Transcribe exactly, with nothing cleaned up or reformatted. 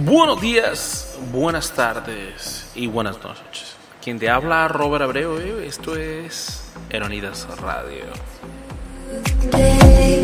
Buenos días, buenas tardes y buenas noches. Quien te habla, Robert Abreu, esto es Eronidas Radio.